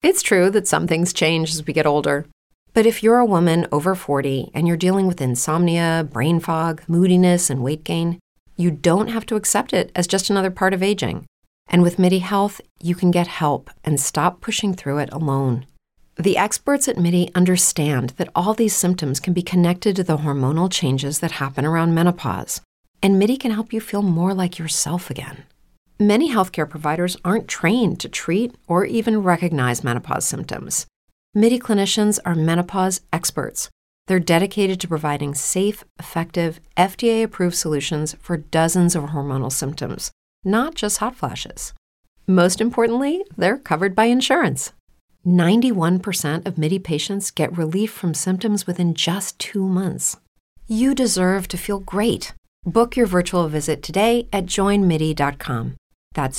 It's true that some things change as we get older. But if you're a woman over 40 and you're dealing with insomnia, brain fog, moodiness, and weight gain, you don't have to accept it as just another part of aging. And with MIDI Health, you can get help and stop pushing through it alone. The experts at MIDI understand that all these symptoms can be connected to the hormonal changes that happen around menopause, and MIDI can help you feel more like yourself again. Many healthcare providers aren't trained to treat or even recognize menopause symptoms. MIDI clinicians are menopause experts. They're dedicated to providing safe, effective, FDA-approved solutions for dozens of hormonal symptoms, not just hot flashes. Most importantly, they're covered by insurance. 91% of MIDI patients get relief from symptoms within just 2 months. You deserve to feel great. Book your virtual visit today at joinmidi.com. That's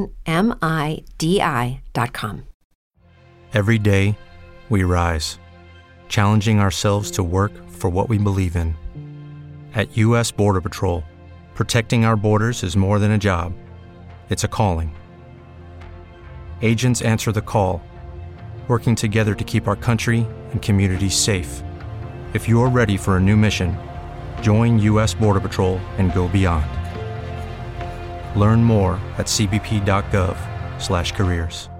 joinmidi.com. Every day, we rise, challenging ourselves to work for what we believe in. At U.S. Border Patrol, protecting our borders is more than a job. It's a calling. Agents answer the call, working together to keep our country and communities safe. If you're ready for a new mission, join U.S. Border Patrol and go beyond. Learn more at cbp.gov/careers.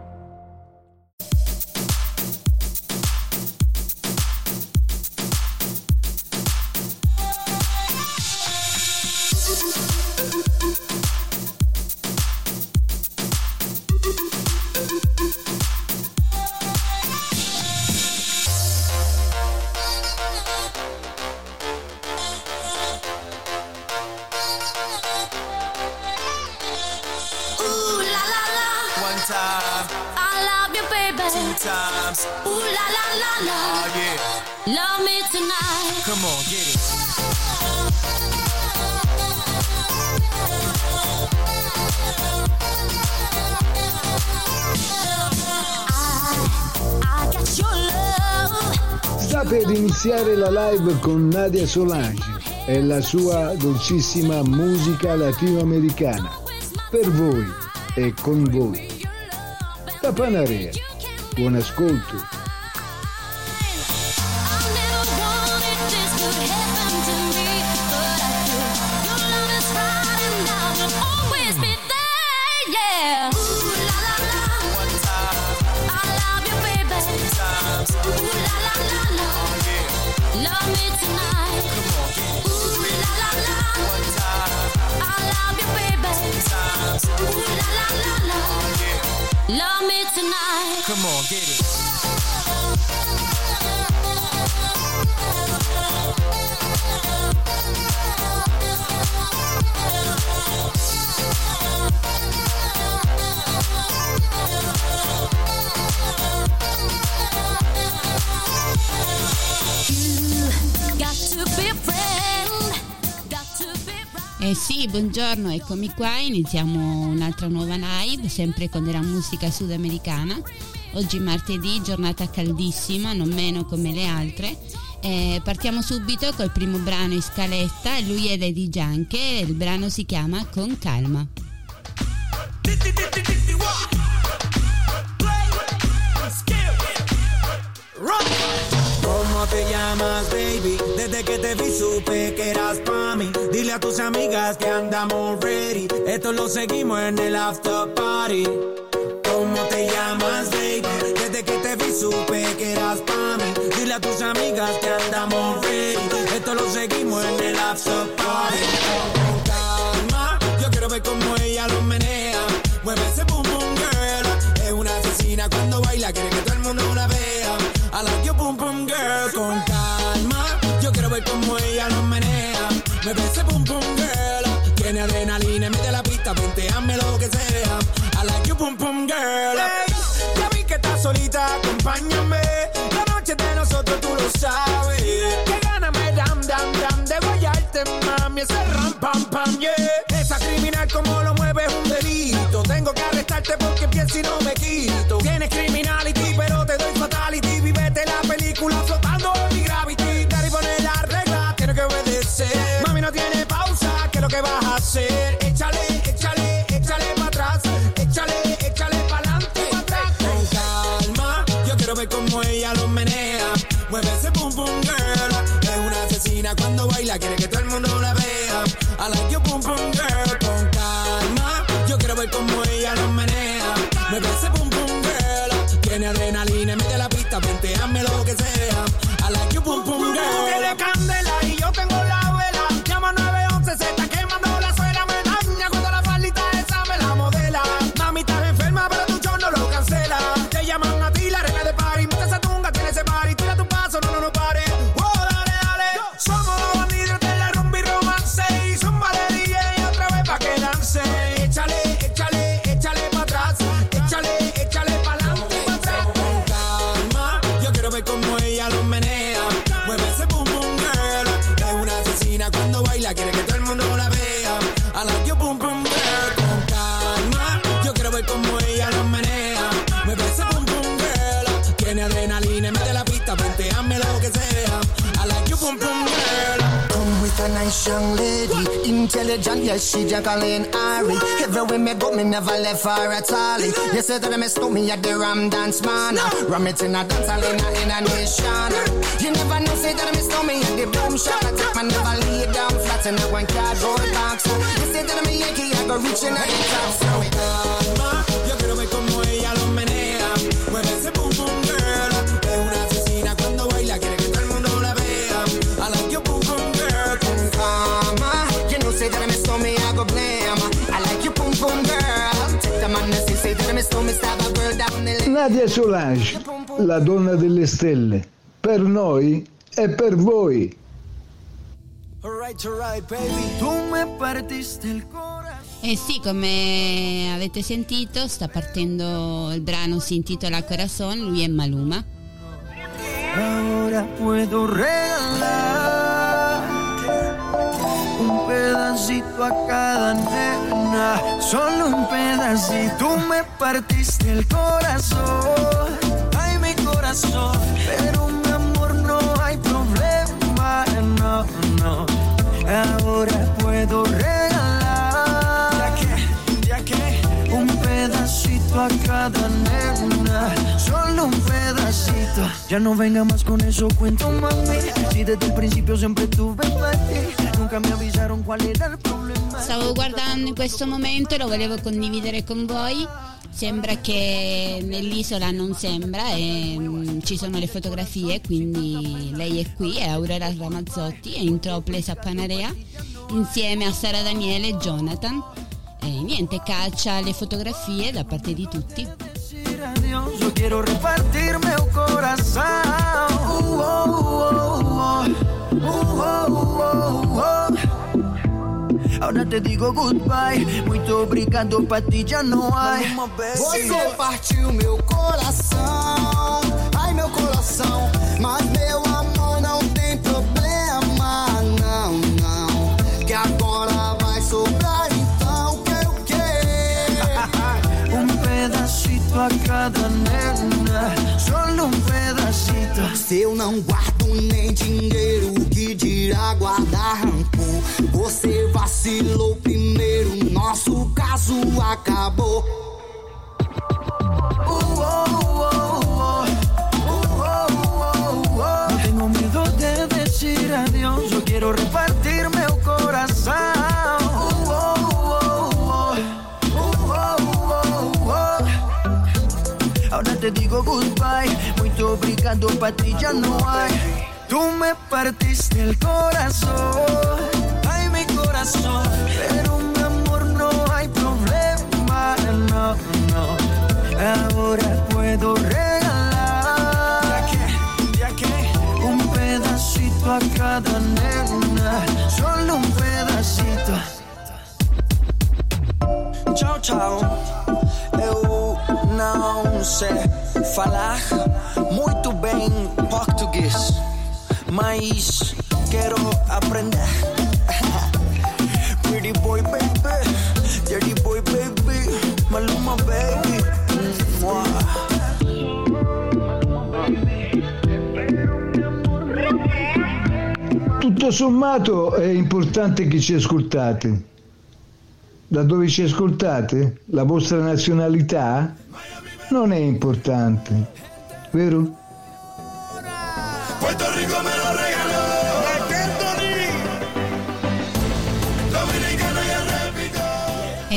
Sta per iniziare la live con Nadia Solange e la sua dolcissima musica latinoamericana. Per voi e con voi. Tapanarea. Buon ascolto. Love me tonight. Come on, get it. Sì, buongiorno, eccomi qua, iniziamo un'altra nuova live, sempre con della musica sudamericana. Oggi martedì, giornata caldissima, non meno come le altre. Partiamo subito col primo brano in scaletta, lui è Daddy Yankee, il brano si chiama Con Calma. ¿Cómo te llamas, baby? Desde que te vi supe que eras pa' mí. Dile a tus amigas que andamos ready. Esto lo seguimos en el after party. ¿Cómo te llamas, baby? Desde que te vi supe que eras pa' mí. Dile a tus amigas que andamos ready. Esto lo seguimos en el after party. Con calma, yo quiero ver cómo ella lo menea. Mueve ese boom boom girl. Es una asesina cuando baila, quiere que todo el mundo la vea. I like your boom boom girl. Con calma, yo quiero ver cómo ella lo menea. Me ve ese boom boom girl. Tiene adrenalina y mete la pista, venteame lo que sea. I like your boom boom girl. Hey, ya vi que estás solita, acompáñame. La noche de nosotros tú lo sabes. Que gana me dam dam dam de guayarte, mami. Ese ram pam pam, yeah. Esa criminal como lo mueve es un delito. Tengo que arrestarte porque pienso y no me quito. Tienes criminality pero te doy fatality. Vivete la película flotando en mi gravity. Daddy pone la regla, tiene que obedecer. Mami no tiene pausa, ¿qué es lo que vas a hacer? Échale, échale, échale para atrás. Échale, échale para adelante. Con calma, asesina cuando baila, quiere que todo el mundo la vea. I like your pum pum girl, con calma. Yo quiero ver cómo ella lo menea. Me parece pum pum girl. Tiene adrenalina, mete la pista, venteame lo que sea. I like your pum pum girl. Tú tienes candela y yo tengo la vela. Llama 911, se está quemando la suela. Me daña cuando la faldita esa me la modela. Mami, estás enferma, pero tu show no lo cancela. Te llaman a ti, la reina de party. Mete esa tunga, tiene ese party. Tira tu paso, no pare. Oh, dale, dale. Somos los bandidos de la rumba y romance. Y zumba de DJ otra vez pa' que dance. Échale, échale, échale pa' atrás. Échale, échale pa' adelante y pa' atrás. Con calma, yo quiero ver cómo ella lo menea. Mueve ese boom boom girl. Es una asesina cuando baila, quiere que todo el mundo la vea. I like your boom boom girl. Con calma, yo quiero ver cómo ella lo menea. Mueve ese boom boom girl. Tiene adrenalina, mete la pista, venteame lo que sea. I like your boom boom girl. Come with a nice young lady, intelligent, yes, she Jacqueline Ari. Everywhere me go, me never left her at all. You said that I stole me at the Ram Dance Man. Ram it in a dance hall in a nation. You never know, say that I stole me at the Boom Shop. I take my never lay down flat in a one cardboard box. You said that I'm a Yankee, I go reaching out the top. So calma, yo quiero ver cómo ella lo menea. Mueve ese boom boom girl. Es una asesina cuando baila, quiere que todo el mundo la vea. I like your boom boom girl. Con calma, you know, say that I stole me, I go blame. I like your boom boom girl. Take the man that say that I stole me, stab a girl down the lane. Nadia Solange, la donna delle stelle. Per noi e per voi. Alright, baby. Tu me partiste il cuore. Eh sì, come avete sentito, sta partendo il brano, si intitola Corazón, lui è Maluma. Ahora puedo regalar un pedacito a cada nena, solo un pedacito. Tú me partiste el corazón, ay mi corazón, pero mi amor no hay problema, no, no. Ahora puedo regalar, ya que un pedacito a cada nena, solo un pedacito. Ya no venga más con eso, cuento mami. Si desde il principio sempre tuve ti, nunca mi avvisaron qual era il problema. Stavo guardando in questo momento e lo volevo condividere con voi. Sembra che nell'isola non sembra, ci sono le fotografie, quindi lei è qui, è Aurora Ramazzotti, è in topless a Panarea insieme a Sara Daniele e Jonathan. E niente, caccia le fotografie da parte di tutti. Yo quiero repartirme un corazón. Ahora te digo goodbye, muito obrigado, pra ti já não há. Você partiu meu coração, ai meu coração, mas meu amor não tem problema, não, não, que agora vai sobrar, então quero o quê? Um pedacito a cada nena, solo um pedacito. Se eu não guardo nem dinheiro, que dirá guardar rancor? Você vacilou primeiro, nosso caso acabou. No tengo miedo de decir adiós, yo quiero repartirme el corazón. Ahora te digo goodbye, muito obrigado, pra ti já não há. Tú me partiste el corazón, ay mi corazón, pero mi amor no hay problema, no, no. Ahora puedo regalar, ya que un pedacito a cada nena, solo un pedacito. Tchau, tchau. Eu não sei falar muito bem português, mas quero aprender. Pretty boy baby, dirty boy baby, Maluma baby. Tutto sommato è importante che ci ascoltate. Da dove ci ascoltate? La vostra nazionalità? Non è importante, vero? Puerto Rico me lo regaló.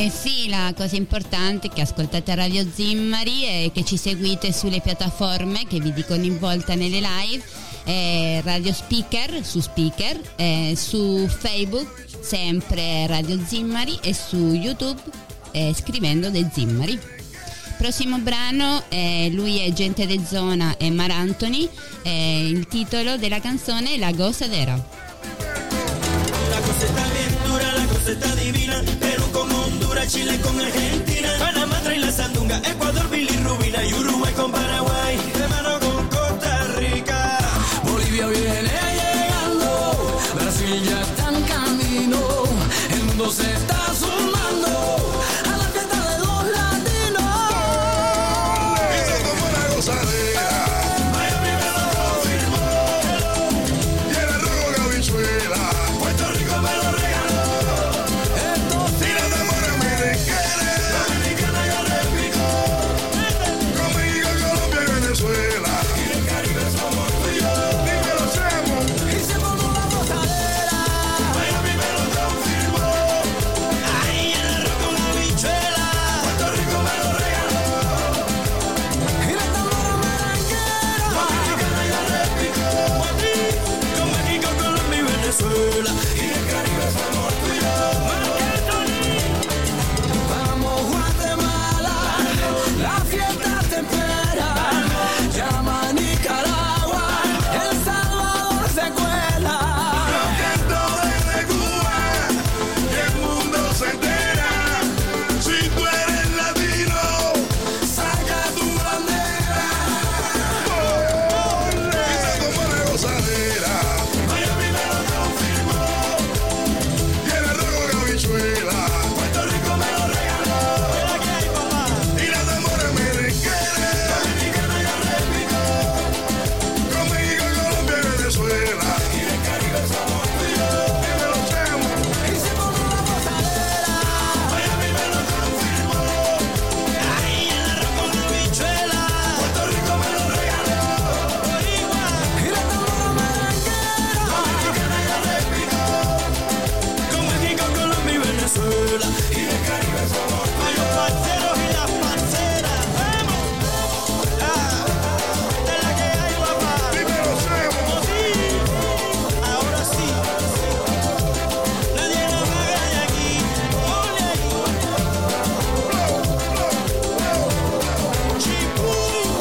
Sì, la cosa importante è che ascoltate Radio Zimmari e che ci seguite sulle piattaforme che vi dico ogni volta nelle live, Radio Speaker, su Speaker, su Facebook sempre Radio Zimmari e su YouTube scrivendo De Zimmari. Prossimo brano, lui è Gente de Zona e Mar Anthony, il titolo della canzone è La Gozadera. La cosa está bien dura, la cosa está divina. Perú con Honduras, Chile con Argentina, Panamá trae la sandunga, Ecuador, bilirrubina y Uruguay con Paraguay, de mano con Costa Rica. Bolivia viene llegando, Brasil ya está en camino, el mundo se está sumando a la fiesta de los latinos. Dice como una gozadera. Miami me lo confirmó, Y el arroz con habichuela. Puerto Rico me lo regaló, Y la demora merenguera. Dominicana yo repito, Con México, Colombia y Venezuela. y el Caribe somos tú y yo. Dímelo, Chemo. Y se formó la gozadera. Miami me lo confirmó, ahí el arroz con habichuela, Puerto Rico me lo regaló, Y la tambora merenguera. Dominicana yo repito, con México, Colombia y Venezuela, y el Caribe somos tú y yo. Vamos Guatemala, la fiesta te espera. Llama a Nicaragua, El Salvador se cuela. Canto desde Cuba, y el mundo se entera. Si tú eres latino, Saca tu bandera. dice como una gozadera. Miami me lo confirmó, Y el arroz con habichuela. Puerto Rico me lo regaló, mira que hay papá, Y la demora merenguera. Dominicana yo repito, Con México, Colombia y Venezuela. y el Caribe somos tú y yo. Dímelo, Chemo. Y se formó la gozadera. Miami me lo confirmó, ahí el arroz con habichuela, Puerto Rico me lo regaló, igual, Y la tambora merenguera. Dominicana yo repito, con México, Colombia y Venezuela, y el Caribe somos tú y yo. Parceros y las parceras, vamos, esta es la que hay papá, Dímelo, Chemo. sí, ahora sí, nadie nos haga de aquí, ole ahí. Chipú,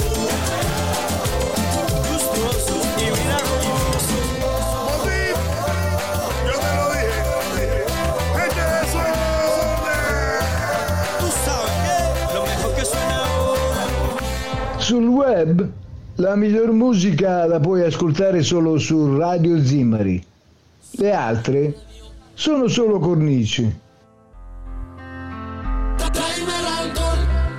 gustoso y miraculoso. Motín, yo te lo dije. Gente de suerte. Tú sabes que lo mejor que suena ahora. Sul web la miglior musica la puoi ascoltare solo su Radio Zimmari. Le altre sono solo cornici. Tráeme el alcohol.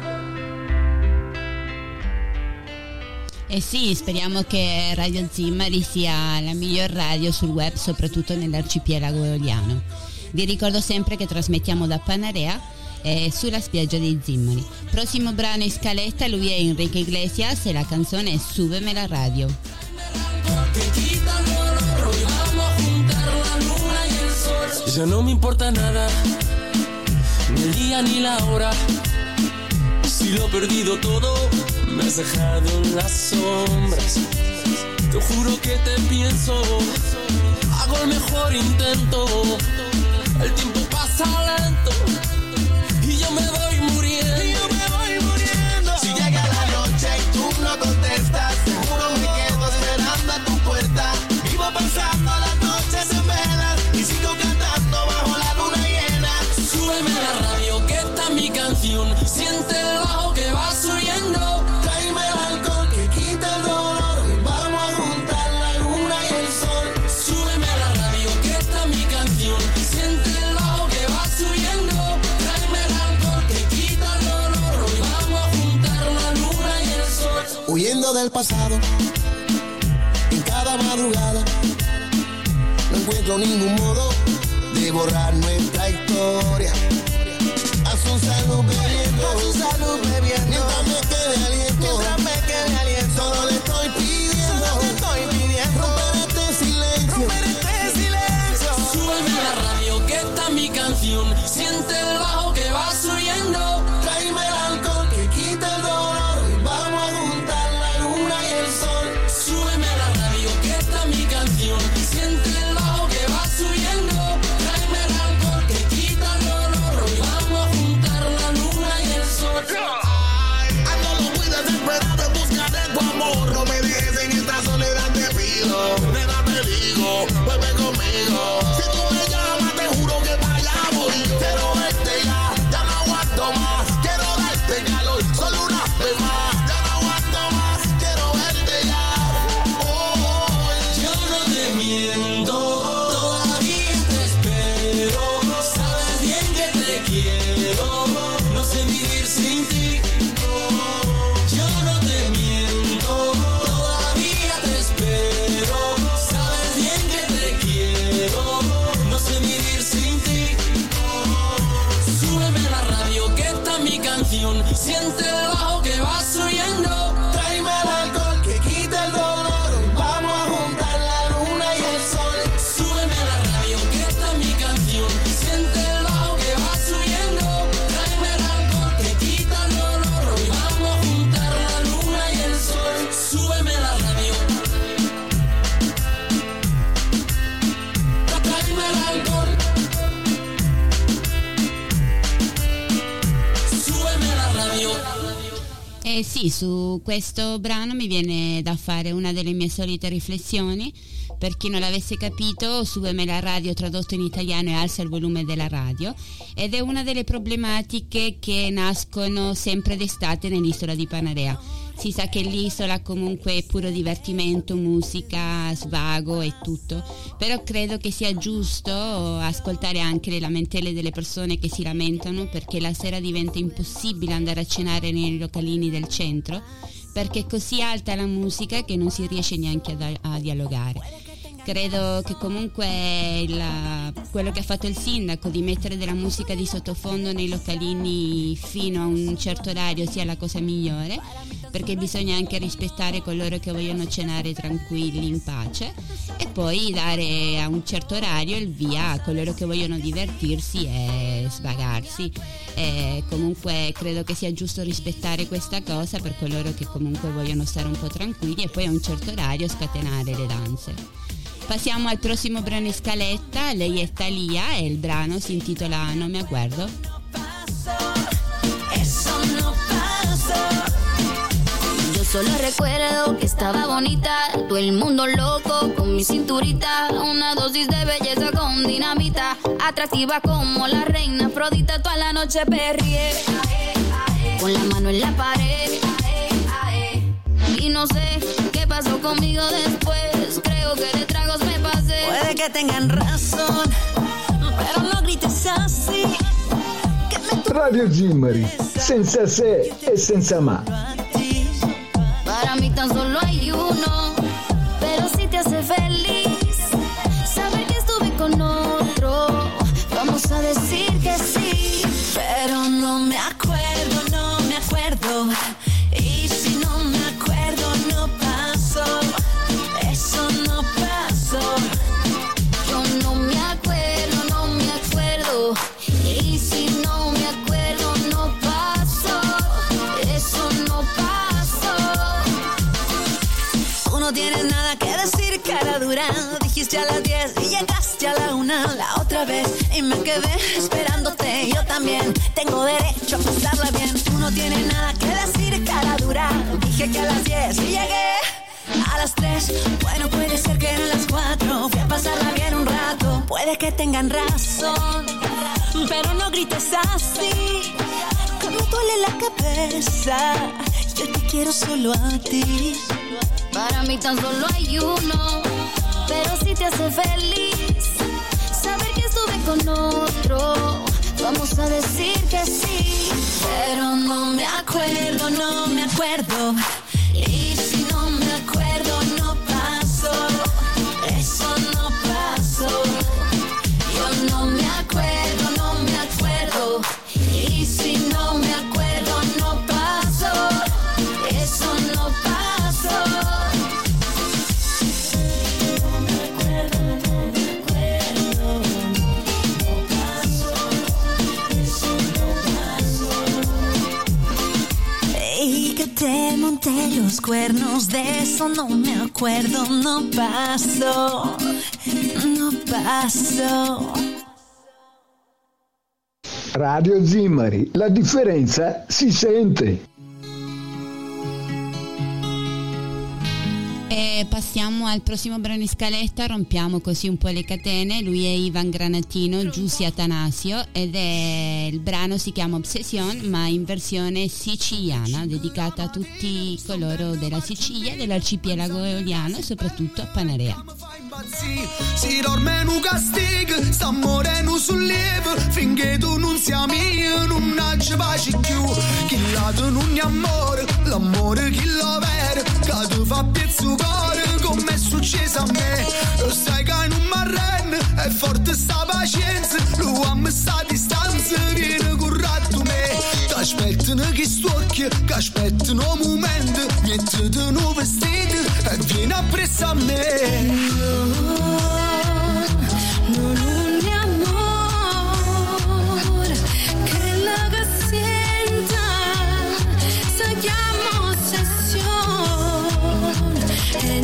E sì, speriamo che Radio Zimmari sia la miglior radio sul web, soprattutto nell'arcipelago eoliano. Vi ricordo sempre che trasmettiamo da Panarea sulla spiaggia dei Zimmari. Prossimo brano in scaletta, lui è Enrique Iglesias e la canzone è Súbeme la radio. Que quita el dolor y vamos a juntar la luna y el sol. Ya no me importa nada, ni el día ni la hora. Si lo he perdido todo, me has dejado en las sombras. Te juro que te pienso, hago el mejor intento. El tiempo pasa lento y yo me voy muriendo. Si llega la noche y tú no contestas, seguro me quedo esperando a tu puerta. Vivo pasando las noches en velas y sigo cantando bajo la luna llena. Súbeme la radio, que está mi canción. Siente el bajo que va subiendo. Tráeme el alcohol que quita el dolor y vamos a juntar la luna y el sol. Súbeme la radio, que está mi canción. Siente el bajo que va subiendo. Tráeme el alcohol que quita el dolor. Hoy vamos a juntar la luna y el sol. Huyendo del pasado, en cada madrugada, no encuentro ningún modo de borrar nuestra historia. A su salud bebiendo, mientras me quede aliento, solo le estoy pidiendo, romper este silencio. Súbeme la radio, que está mi canción. Siente el bajo que va vuelve conmigo. Si tú me llamas, te juro que para allá voy. Quiero verte ya no aguanto más. Quiero darte calor, solo una vez más. Ya no aguanto más, quiero verte ya. Yo no te miento, todavía te espero. Sabes bien que te quiero, no sé vivir sin ti. Yo no te miento, todavía te espero. Sabes bien que te quiero, no sé vivir sin ti. Súbeme la radio que está mi canción. Siente el bajo que va subiendo. Tráeme el alcohol que quita el dolor. Vamos a juntar la luna y el sol. Súbeme la radio que está mi canción. Siente el bajo que va subiendo. Tráeme el alcohol que quita el dolor. Hoy vamos a juntar la luna y el sol. Súbeme la radio. Tráeme el alcohol. Súbeme la radio. Sì, su questo brano mi viene da fare una delle mie solite riflessioni. Per chi non l'avesse capito, Súbeme la radio tradotto in italiano è Alza il volume della radio, ed è una delle problematiche che nascono sempre d'estate nell'isola di Panarea. Si sa che l'isola comunque è puro divertimento, musica, svago e tutto, però credo che sia giusto ascoltare anche le lamentele delle persone che si lamentano perché la sera diventa impossibile andare a cenare nei localini del centro, perché è così alta la musica che non si riesce neanche a dialogare. Credo che comunque quello che ha fatto il sindaco di mettere della musica di sottofondo nei localini fino a un certo orario sia la cosa migliore, perché bisogna anche rispettare coloro che vogliono cenare tranquilli in pace e poi dare a un certo orario il via a coloro che vogliono divertirsi e svagarsi. E comunque credo che sia giusto rispettare questa cosa per coloro che comunque vogliono stare un po' tranquilli e poi a un certo orario scatenare le danze. Passiamo al prossimo brano in scaletta. Lei è Thalía e il brano si intitola No me acuerdo. Eso no pasó. Yo solo recuerdo que estaba bonita, todo el mundo loco con mi cinturita, una dosis de belleza con dinamita, atractiva como la reina Afrodita, toda la noche perrié, con la mano en la pared, y no sé qué pasó conmigo después, creo que de tragos me pasé. Puede que tengan razón, pero no grites así. Radio Zimari, senza se e senza ma. Para mí tan solo hay uno, pero si te hace feliz saber que estuve con otro, vamos a decir que sí. Pero no me acuerdo, no me acuerdo. Y si no me acuerdo, no pasó. Eso no pasó. Yo no me acuerdo, no me acuerdo. Y si no me acuerdo, no pasó. Eso no pasó. Tú no tienes nada que decir, cara dura. Dijiste a las 10 y llegaste a la 1 la otra vez. Y me quedé esperándote, yo también tengo derecho a pasarla bien. Tú no tienes nada que decir, cara dura. Dije que a las 10 y llegué a las 3. Bueno, puede ser que eran las 4. Fui a pasarla bien un rato. Puede que tengan razón, pero no grites así. Que me duele la cabeza. Yo te quiero solo a ti. Para mí tan solo hay uno, pero si te hace feliz saber que estuve con otro, vamos a decir que sí. Pero no me acuerdo, no me acuerdo. Y si no me acuerdo, no pasó. Eso no pasó. Yo no me acuerdo, no me acuerdo. Y si no me acuerdo, no pasó. Eso no pasó. No me acuerdo, no me acuerdo. No pasó. Eso no pasó. Y que te monté los cuernos, de eso no me acuerdo. No pasó. No pasó. Radio Zimari, la differenza si sente. E passiamo al prossimo brano in scaletta, rompiamo così un po' le catene. Lui è Ivan Granatino, Giussi Atanasio, ed è il brano si chiama Obsession, ma in versione siciliana, dedicata a tutti coloro della Sicilia, dell'arcipelago eoliano e soprattutto a Panarea. Si dorme in un castigo, sta morendo sul lieve, finché tu non sia mio, non ci pace più. Chi lato non è amore, l'amore chi lo vede, che tu fa pezzo cuore, come è successo a me. Lo sai che non mi arrende, è forte sta pazienza, lo amo sta distanza, viene currato me. Ti aspettano che storchi, che aspettano un momento, niente di nuovo vestito, e vieni appresso a me. Non un amore che la che senta si chiama ossessione, è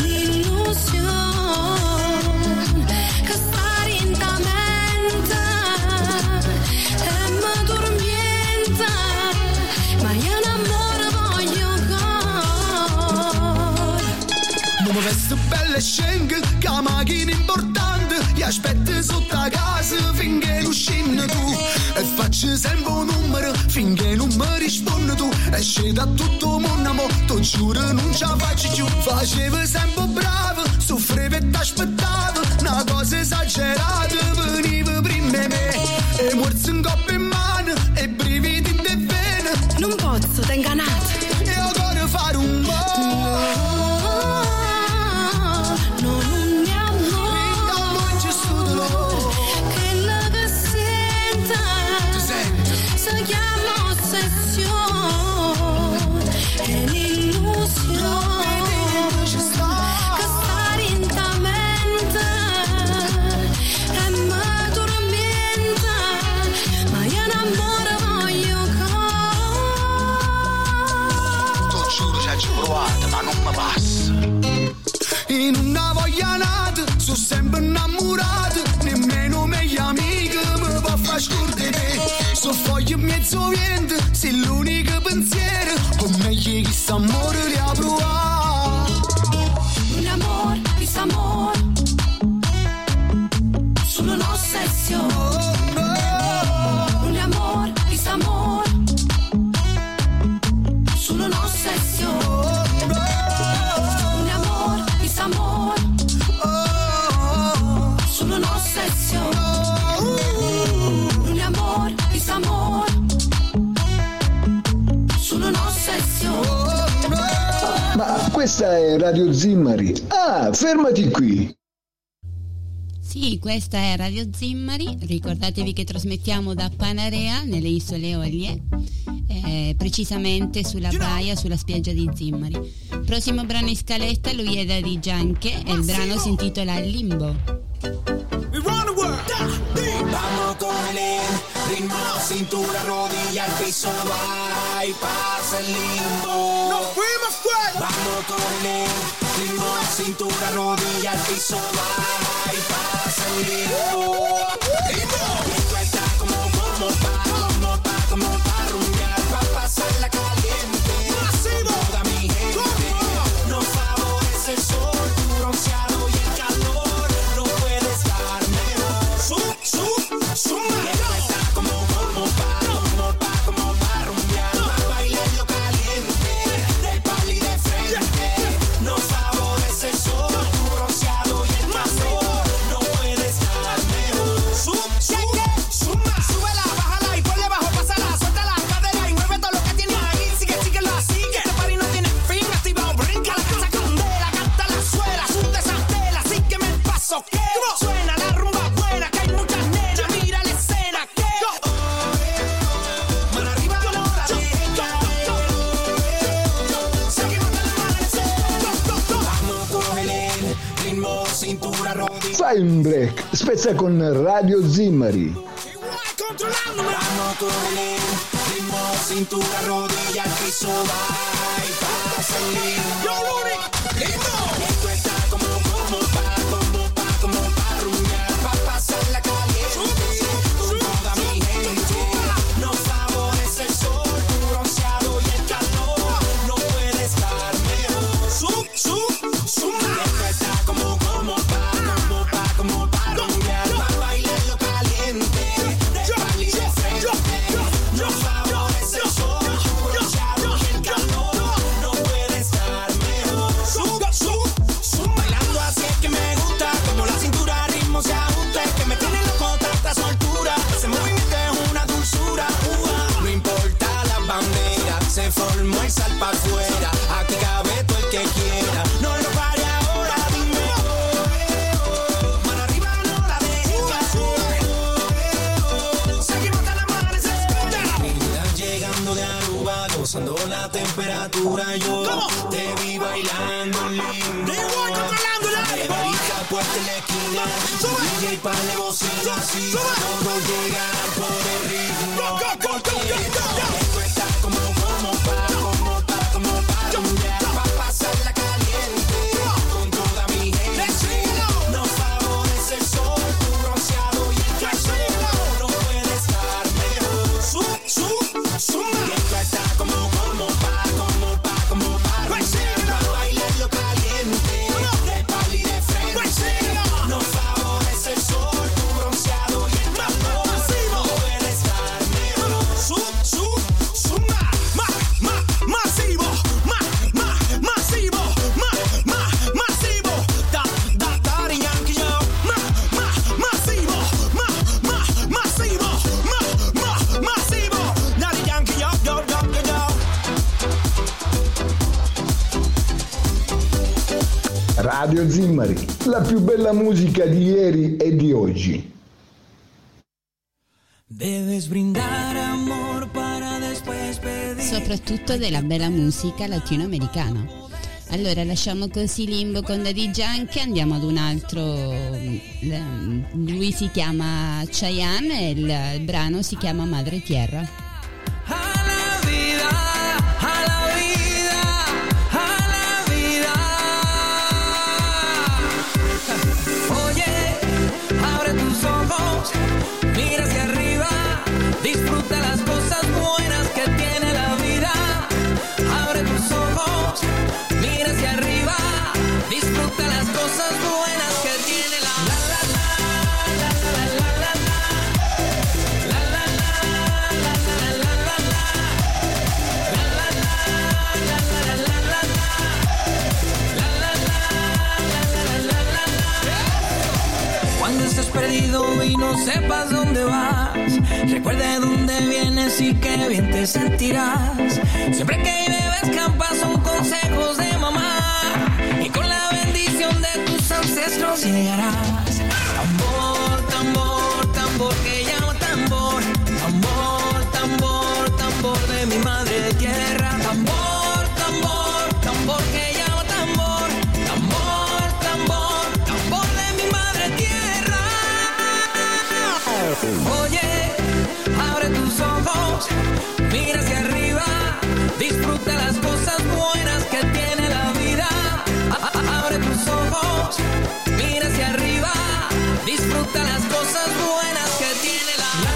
l'illusione che sta in ta mente e mi tormenta, ma io un amore voglio ancora. Non mi vesto bella e schengo, che la macchina importante, ti aspetto sotto la casa finché non scendi tu, e faccio sempre un numero finché non mi rispondi tu, e scendo a tutto il mondo, mo ti giuro non ce la faccio più. Facevo sempre bravo, soffrivo e t'aspettavo, una cosa esagerata, veniva prima di me, e morso in coppa in mano, e brividi di vene. Non posso, t'ho ingannato. E io voglio fare un po'. In una voglia nata, sono sempre innamorato, nemmeno meglio amico mi può far scordare. So foglie mezzo vento, sei l'unico pensiero, o meglio chi sta amore li ha provato. Un amore, questo amore, solo un'ossessione. Un amore, questo amore, solo un'ossessione. Solo un'ossessione, un amore, questo amore, solo un'ossessione. Ma questa è Radio Zimmari. Ah, fermati qui. Sì, questa è Radio Zimmari, ricordatevi che trasmettiamo da Panarea, nelle isole Eolie, precisamente sulla baia, sulla spiaggia di Zimmari. Prossimo brano in scaletta, lui è Daddy Yankee e il brano si intitola Limbo. Vamos con el ritmo, cintura, rodilla, al piso, va y pasa el limbo. Nos fuimos fuera. Vamos con el ritmo, cintura, rodilla, al piso, va y pasa el limbo. Esto está como pa rumbear, pa pasarla caliente. Toda mi gente nos favorece el sol, tu bronceado y el calor. No puedes dar mejor. Suma. Esto está como pa rumbear, pa bailarlo caliente, del pali de frente. Nos favorece el sol, tu bronceado y el calor. No puedes dar mejor. Suma. Súbela, bájala y ponle bajo, pásala, suelta la cadera y mueve todo lo que tienes ahí. Sigue, la sigue. Este party no tiene fin, activado, brinca la casa candela, canta la suela, suelta esa tela, sígueme el paso que suena la rumba buena, que hay muchas nenas, mira la escena que mano arriba, no la deja. Seguimos hasta el amanecer. Vamos con el ritmo, cintura, rodilla. Fai un break, spezza con Radio Zimmari. Vamos con el ritmo, cintura, rodilla, al piso, va y pasa el limbo. Esto está como pa rumbear, pa pasarla caliente. Con toda mi gente nos favorece el sol, tu bronceado y el calor. No puedes estar mejor. Suma. no lo pare ahora, dime mano arriba, no la dejes caer. Seguimos hasta el amanecer. Mira, llegando de Aruba, gozando la temperatura, yo te vi bailando lindo. Barita puesta en la esquina, DJ para la bocina, así todo llega por el ritmo. Esto está como pa' rumbear, pa' pasarla caliente con toda mi gente. Nos favorece el sol, tu bronceado y el calor, no puede estar mejor. Esto está como pa' bailarlo caliente, de pal y de frente. Nos favorece el sol, tu bronceado y el calor, no puede estar mejor. Masivo, Daddy Yankee, yo. Masivo, Daddy Yankee, yo. Radio Zimmari, la più bella musica di ieri e di oggi. Debes brindar amor para después pedir. Soprattutto della bella musica latinoamericana. Allora lasciamo così Limbo con Daddy Yankee, andiamo ad un altro. Lui si chiama Chayanne e il brano si chiama Madre Tierra. Mira hacia arriba, disfruta las cosas buenas que tiene la vida. Abre tus ojos, mira hacia arriba, disfruta las cosas buenas que tiene la vida. Cuando estés perdido y no sepas dónde vas, recuerda de dónde vienes y qué bien te sentirás. Siempre que bebes campas son consejos de mamá, y con la bendición de tus ancestros llegarás. Tambor, tambor, tambor que llama tambor. Tambor, tambor, tambor de mi madre tierra. Tambor, tambor, tambor que llama tambor. Tambor, tambor, tambor de mi madre tierra. Oye, abre tus ojos, mira hacia arriba, disfruta las cosas buenas que tiene la vida. Abre tus ojos, mira hacia arriba, disfruta las cosas buenas que tiene la vida.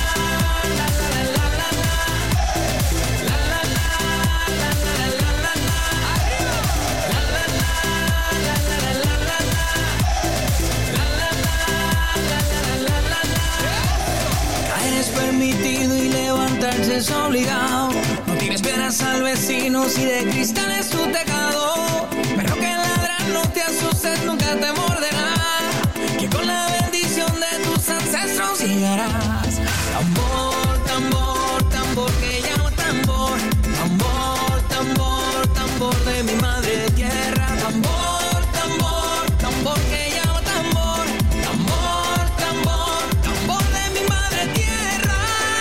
Es permitido y levantarse es obligado. No tienes piedras al vecino si de cristal es tu tejado. Pero que ladran, no te asustes, nunca te morderá. Que con la bendición de tus ancestros llegarás. Tambor, tambor, tambor que llama tambor. Tambor, tambor, tambor de mi madre tierra. Tambor, tambor, tambor que llama tambor. Tambor, tambor, tambor de mi madre tierra.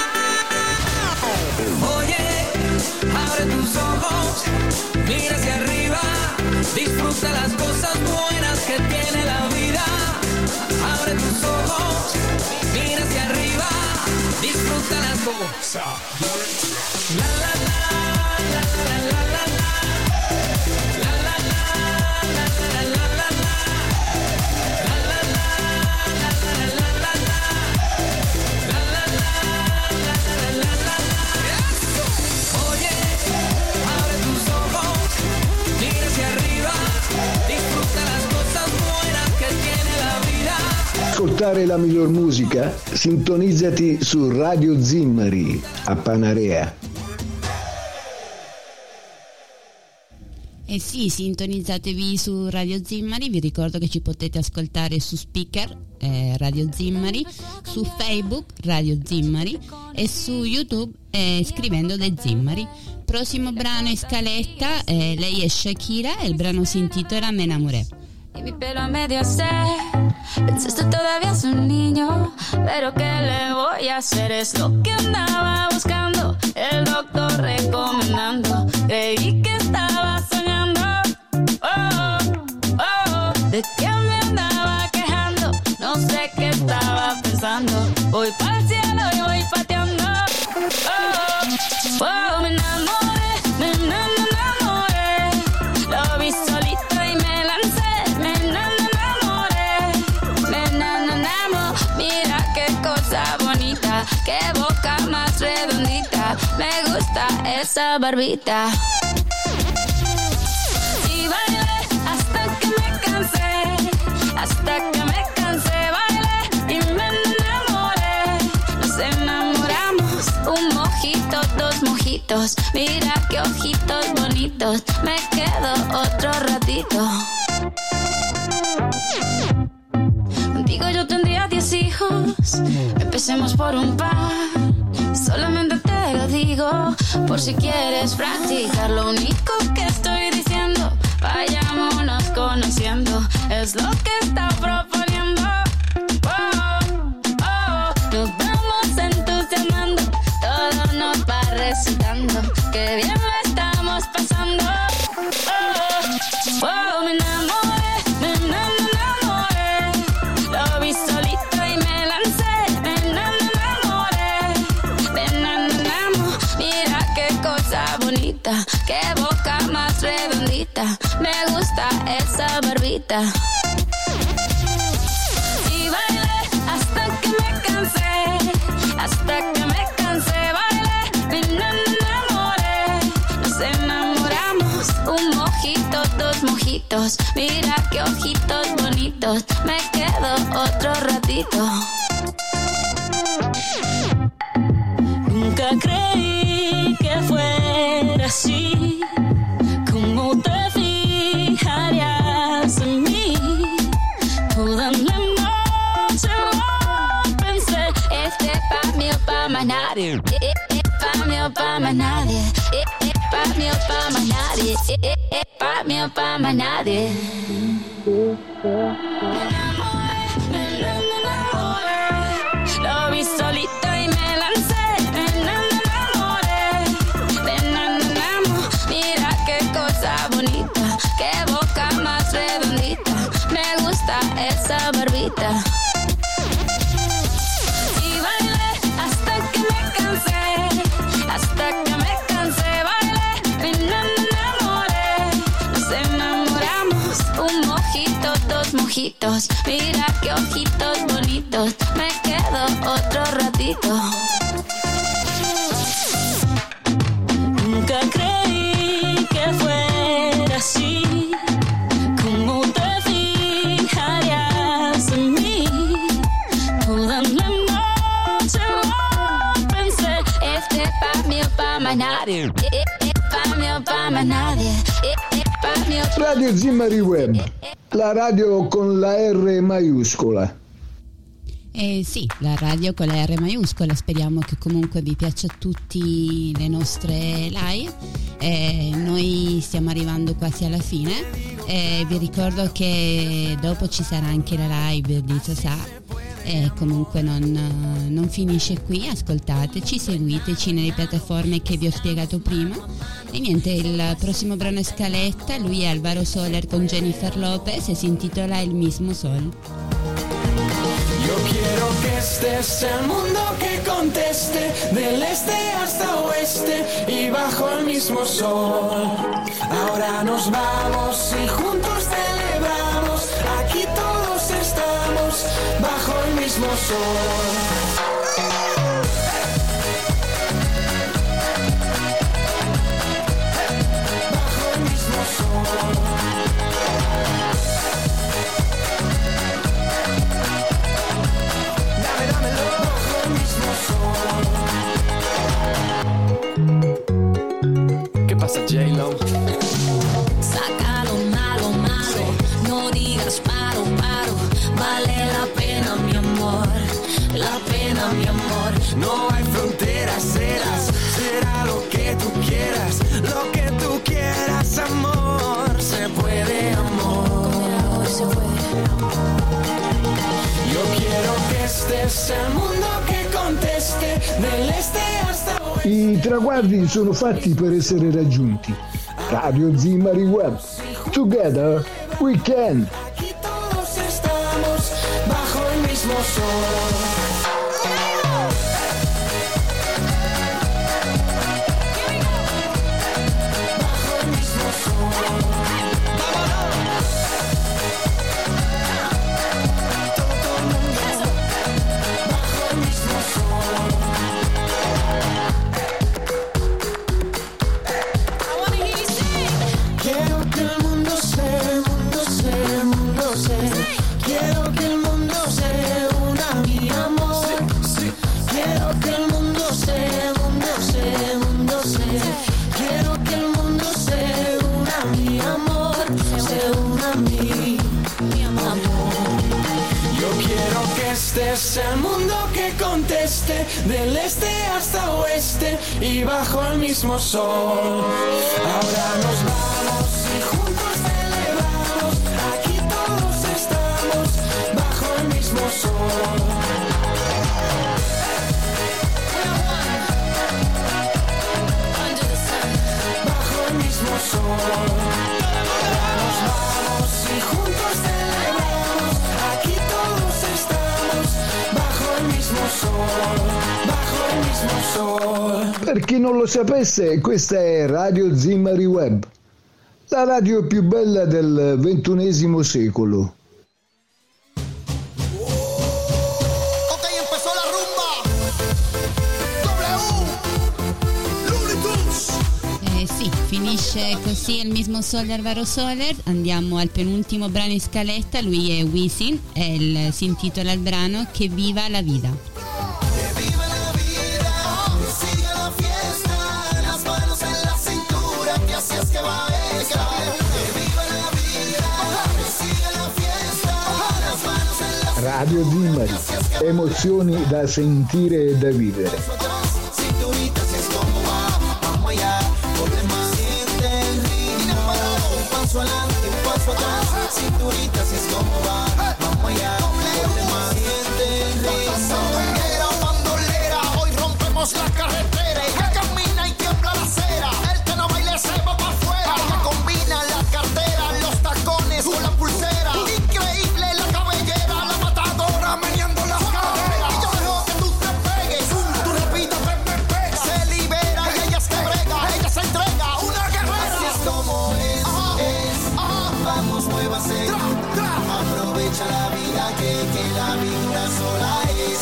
Oye, abre tus ojos, mira hacia arriba, disfruta las cosas buenas que tiene la vida. Abre tus ojos, mira hacia arriba, disfruta las cosas. La la la la la la la la. La la la la la la la la. La la la la la la la la. La la la la la la la. Oye, abre tus ojos, mira hacia arriba, disfruta las cosas buenas que tiene la vida. Ascoltare la miglior musica? Sintonizzati su Radio Zimmari a Panarea. Eh sì, sintonizzatevi su Radio Zimmari, vi ricordo che ci potete ascoltare su Speaker Radio Zimmari, su Facebook Radio Zimmari e su YouTube scrivendo The Zimmari. prossimo brano in scaletta, lei è Shakira e il brano si intitola Me Enamoré. Y mi pelo a medio se pensaste todavía es un niño, pero ¿qué le voy a hacer? Es lo que andaba buscando, el doctor recomendando. Creí que estaba soñando, oh, oh, de que me andaba quejando. No sé qué estaba pensando. Voy pa'l cielo y voy pateando, oh, oh, me enamoré, me enamoré. Lo vi solito y me lancé. Qué boca más redondita, me gusta esa barbita. Y bailé hasta que me cansé, hasta que me cansé, bailé y me enamoré. Nos enamoramos, un mojito, dos mojitos, mira qué ojitos bonitos, me quedo otro ratito. Contigo yo tendría 10 hijos, empecemos por un par. Solamente te lo digo, por si quieres practicar. Lo único que estoy diciendo, vayámonos conociendo, es lo que está proponiendo. Oh, oh, nos vamos entusiasmando, todo nos va recitando, que bien lo estamos pasando. Oh, oh, me enamoré, me enamoré. Lo vi solito y me lancé, me enamoré. Me enamoramos, mira qué cosa bonita, qué boca más redondita, me gusta esa barbita. Y bailé hasta que me cansé, hasta que me cansé, bailé, me enamoré. Nos enamoramos, un mojito, dos mojitos, mira qué ojitos bonitos, me quedo otro ratito. Nunca creí que fuera así, cómo te fijarías en mí. Toda la noche lo pensé, este pa' mí o pa' más nadie, pa' mí o pa' más nadie, pa' mí o pa' más nadie, pa' mí o pa' más nadie. Me enamoré, lo vi solito y me lancé, me enamoré, me enamoramos, mira qué cosa bonita, qué boca más redondita, me gusta esa barbita. Y bailé hasta que me cansé, hasta que me cansé, bailé, me enamoré. Nos enamoramos, un mojito, dos mojitos, mira qué ojitos bonitos, me quedo otro ratito. nunca creí que fuera así, cómo te fijarías en mí. Toda la noche lo pensé, este pa' mí o pa' más nadie, pa' mí o pa' más nadie, pa' mí o pa' Radio Zimari Web, la radio con la R maiuscola. Sì, la radio con la R maiuscola, speriamo che comunque vi piaccia a tutti le nostre live. Noi stiamo arrivando quasi alla fine, vi ricordo che dopo ci sarà anche la live di Sasà, comunque non finisce qui, ascoltateci, seguiteci nelle piattaforme che vi ho spiegato prima. E niente, il prossimo brano è scaletta, lui è Alvaro Soler con Jennifer Lopez e si intitola El mismo sol. Yo quiero que este sea el mundo que conteste, del este hasta oeste y bajo el mismo sol. Ahora nos vamos y juntos celebramos, aquí todos estamos bajo el mismo sol. Bajo el mismo sol. ¿Qué pasa, J-Lo? Saca lo malo, malo, no digas paro, paro. Vale la pena, mi amor, la pena, mi amor. No hay fronteras, serás, será lo que que tú quieras, lo que tú quieras, amor. Se puede, amor. Con el amor se puede, amor. Yo quiero que estés el mundo que conteste, del este hasta oeste. I traguardi sono fatti per essere raggiunti. Radio Zimari Web. Together we can. Aquí todos estamos bajo el mismo sol. Es el mundo que conteste, del este hasta oeste y bajo el mismo sol. Ahora nos vamos y juntos celebramos, aquí todos estamos bajo el mismo sol. Bajo el mismo sol. Ahora nos vamos y juntos celebramos, aquí todos estamos bajo el mismo sol, bajo el mismo sol. Per chi non lo sapesse, questa è Radio Zimari Web, la radio più bella del XXI secolo. Ok, empezó la rumba. Looney Tunes. Sì, finisce così il mismo Sol di Alvaro Soler. Andiamo al penultimo brano in scaletta, lui è Wisin e si intitola il brano Che viva la vida. Radio Zimari, emozioni da sentire e da vivere. Hoy rompemos la carretera, ella camina y tiembla la acera. El que no baile se va para afuera. Ella combina la cartera, los tacones con la pulsera. Increíble la cabellera, la matadora meneando las caderas. Y yo dejo que tú te pegues, tú repitas, se libera y ella se brega, ella se entrega, una guerrera. Así es como es. Vamos, muévase, aprovecha la vida que la vida sola es.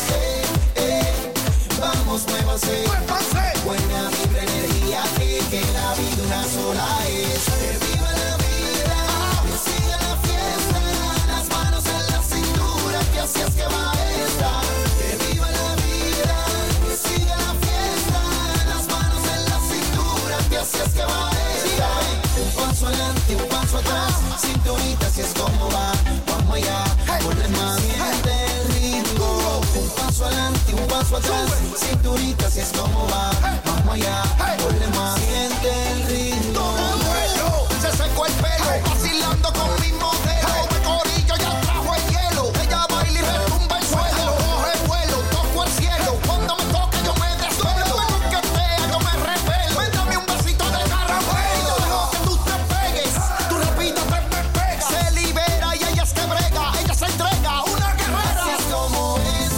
Vamos, muévase, buena vibra, energía, que la vida una sola es. Que viva la vida, que siga la fiesta, las manos en la cintura, que así es que va esta. Que viva la vida, que siga la fiesta, las manos en la cintura, que así es que va esta. Un paso adelante, un paso atrás, cinturita, así es como va. Vamos allá, ponle más siente el ritmo. Un paso adelante, un paso atrás, cinturita, así es como va. Vamos allá, ponle más siente el ritmo. Se secó el pelo, vacilando con mi modelo. Me corillo, ya trajo el hielo. Ella baila y retumba el suelo. Coge vuelo, toco el cielo. Cuando me toque yo me desvelo. Me coquetea, yo me revelo. Dame un besito de caramelo. Dejo que tú te pegues, tú repitas, se libera y ella es que brega, ella se entrega, una guerrera. Así es como es.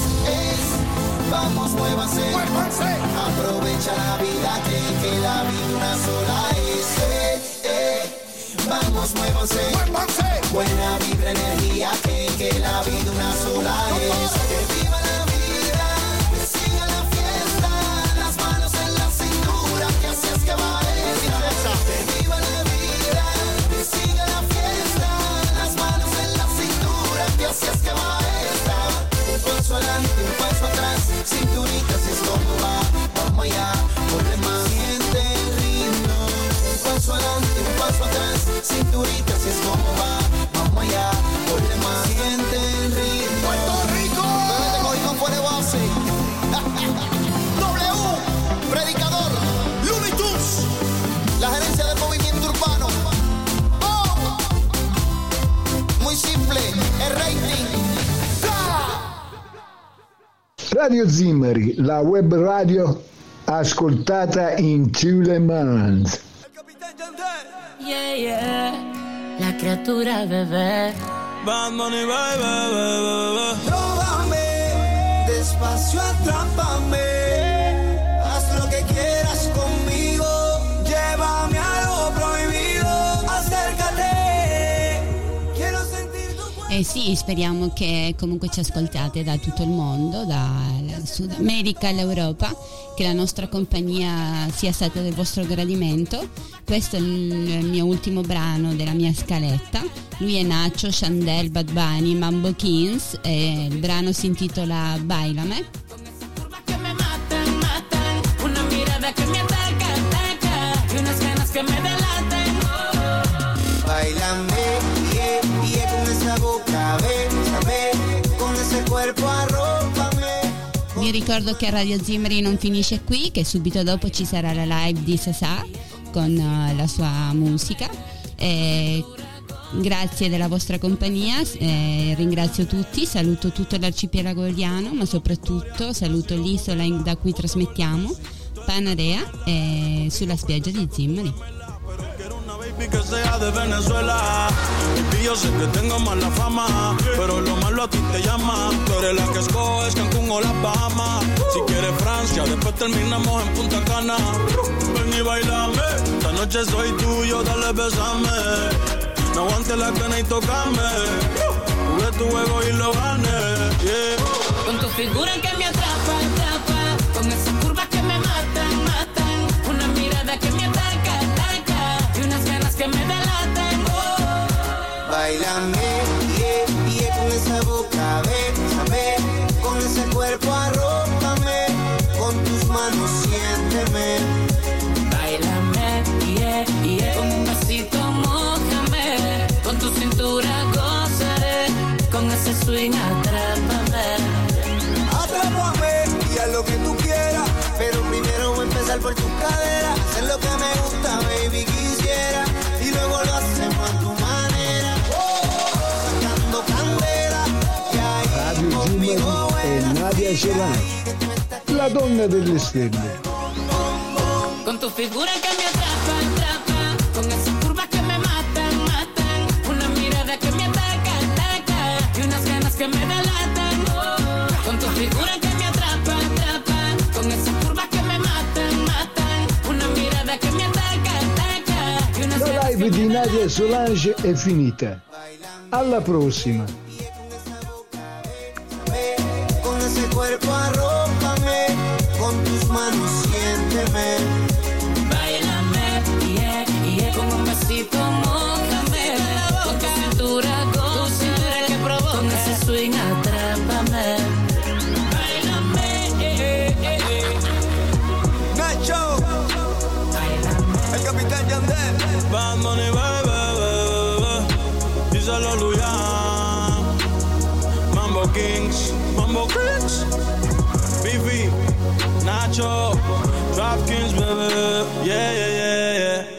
Vamos, muévanse, aprovecha la vida, que la vida una sola es. Vamos, muévanse, buena vibra, energía, que la vida una sola es. Que viva la vida, que siga la fiesta, las manos en la cintura, que así es que va esta. Que viva la vida, que siga la fiesta, las manos en la cintura, que así es que va esta. Un paso adelante, un paso atrás, cinturita, así es como va. Vamos allá, ponle más siente el ritmo. Un paso adelante, un paso atrás, cinturita, así es como va. Vamos allá. Radio Zimmari, la web radio ascoltata in tout le monde. Yeah, yeah. La criatura bebé. Bad Bunny, baby. Tróvame, despacio atrápame, haz lo que quieras conmigo, llévame a lo prohibido, acércate, quiero sentir tu cuerpo. Sì, speriamo che comunque ci ascoltate da tutto il mondo, dal Sud America all'Europa, che la nostra compagnia sia stata del vostro gradimento. Questo è il mio ultimo brano della mia scaletta. Lui è Nacho, Chandel, Bad Bunny, Mambo Kings e il brano si intitola Bailame. Bailame, yeah, yeah, con esa boca, bésame, con ese cuerpo arrópame. Vi ricordo che Radio Zimmari non finisce qui, che subito dopo ci sarà la live di Sasà con la sua musica. Grazie della vostra compagnia, ringrazio tutti, saluto tutto l'arcipelago eoliano, ma soprattutto saluto l'isola da cui trasmettiamo, Panarea, sulla spiaggia di Zimmari. Que sea de Venezuela, y yo sé que tengo mala fama, pero lo malo a ti te llama. Tú eres la que escoges Cancún o las Bahamas. Si quieres Francia, después terminamos en Punta Cana. Ven y bailame, esta noche soy tuyo, dale besame. No aguantes la pena y tocame. Jugué tu juego y lo gané, yeah. Con tu figura que me atrapa, atrapa, con esas curvas que me matan, matan, una mirada que me ataca, ataca, y unas ganas que me delatan. Oh. Bailame, yeah, yeah, con esa boca, bésame, con ese cuerpo arrópame, con tus manos siénteme. Bailame, yeah, yeah, con un besito mójame, con tu cintura gozaré, con ese swing atrápame. Atrápame y haz lo que tú quieras, pero primero voy a empezar por tu cadera, hacer lo que me gusta, baby, quisiera, y luego lo hacemos a tu manera, sacando candela, y ahí Radio conmigo Zimmari e Nadia Solange, la donna delle stelle. Con tu figura que me atrapa, atrapa, con esas curvas que me matan, matan, una mirada que me ataca, ataca, y unas ganas que me delatan. Oh. Con tu figura que me atrapa, atrapa, con esas curvas que me matan, matan, una mirada que me ataca, ataca, y unas ganas La que live me di Nadia delatan. Solange è finita. Alla prossima. con ese cuerpo arrópame, con tus manos siénteme. Bailame, yeah, yeah, con un besito mójame, con tu cintura gózame, que provoca, con ese swing atrápame. Bailame, Nacho, el capitán Yandel. Bad Bunny, baby, díselo Luyan. Mambo Kings, Bifi, Nacho, Drop Kings, baby, yeah, yeah, yeah, yeah.